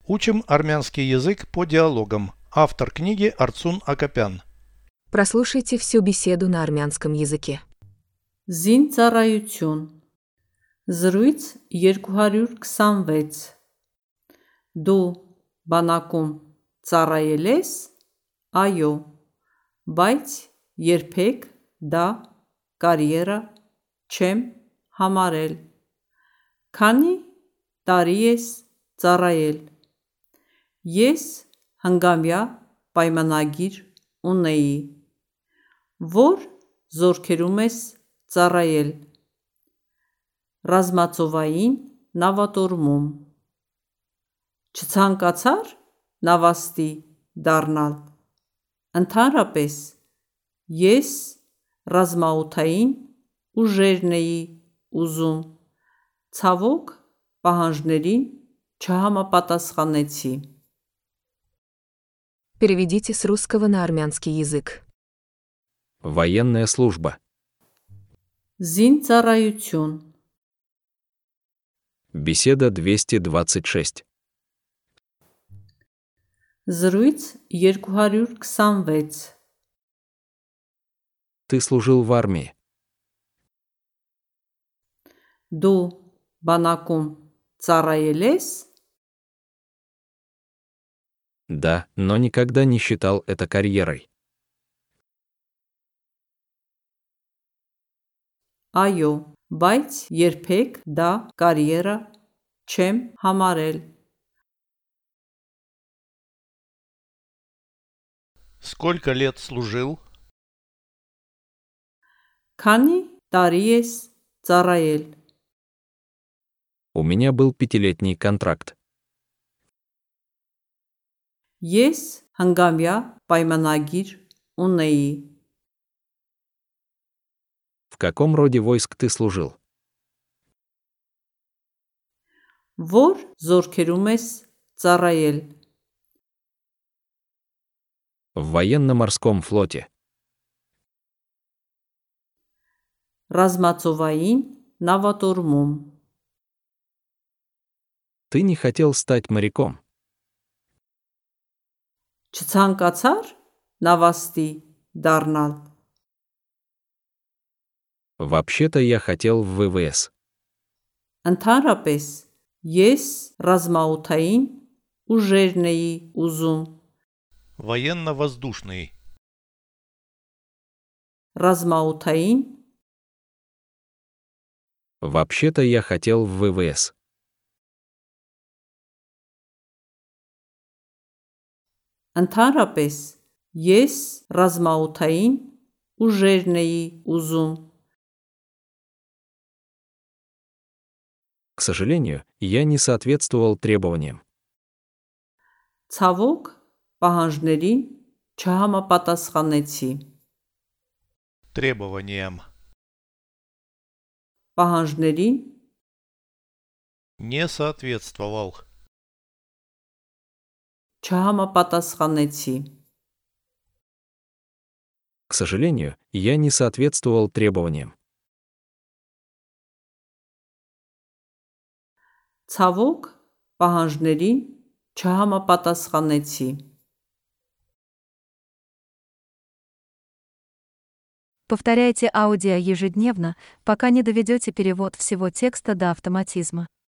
Учим армянский язык по диалогам. Автор книги Арцун Акопян. Прослушайте всю беседу на армянском языке. Զինծառայություն Զրույց 226 Դու բանակում ծառայել ես? Այո, բայց երբեք դա կարիերա չեմ համարել։ Քանի տարի ես ծառայել։ Ես հնգամյա պայմանագիր ունեի։ Որ զորքերում ես ծառայել։ Ռազմածովային նավատորմում։ Չցանկացար նավաստի դառնալ։ Ընդհանրապես, ես ռազմաօդային ուժերն էի ուզում, ցավոք պահանջներին չհամապատասխանեցի։ Переведите с русского на армянский язык. Военная служба. Զինծառայություն Беседа 226. Զրույց 226 Ты служил в армии. Դու բանակում ծառայել ես? Да, но никогда не считал это карьерой. Այո, բայց երբեք դա կարիերա չեմ համարել։ Сколько лет служил? Քանի տարի ես ծառայել։ У меня был 5-летний контракт. Ես հնգամյա պայմանագիր ունեի։ В каком роде войск ты служил? Որ զորքերում ես ծառայել։ В военно-морском флоте. Ռազմածովային նավատորմում։ Ты не хотел стать моряком. Չցանկացար նավաստի դառնալ։ Вообще-то я хотел в ВВС. Ընդհանրապես, ես ռազմաօդային ուժերն էի ուզում։ Военно-воздушный. Ռազմաօդային Вообще-то я хотел в ВВС. Ընդհանրապես, ես ռազմաօդային ուժերն էի ուզում։ К сожалению, я не соответствовал требованиям. Ցավոք, պահանջներին չհամապատասխանեցի։ Требованиям. Պահանջներին Не соответствовал. չհամապատասխանեցի։ К сожалению, я не соответствовал требованиям. Ցավոք, պահանջներին չհամապատասխանեցի։ Повторяйте аудио ежедневно, пока не доведете перевод всего текста до автоматизма.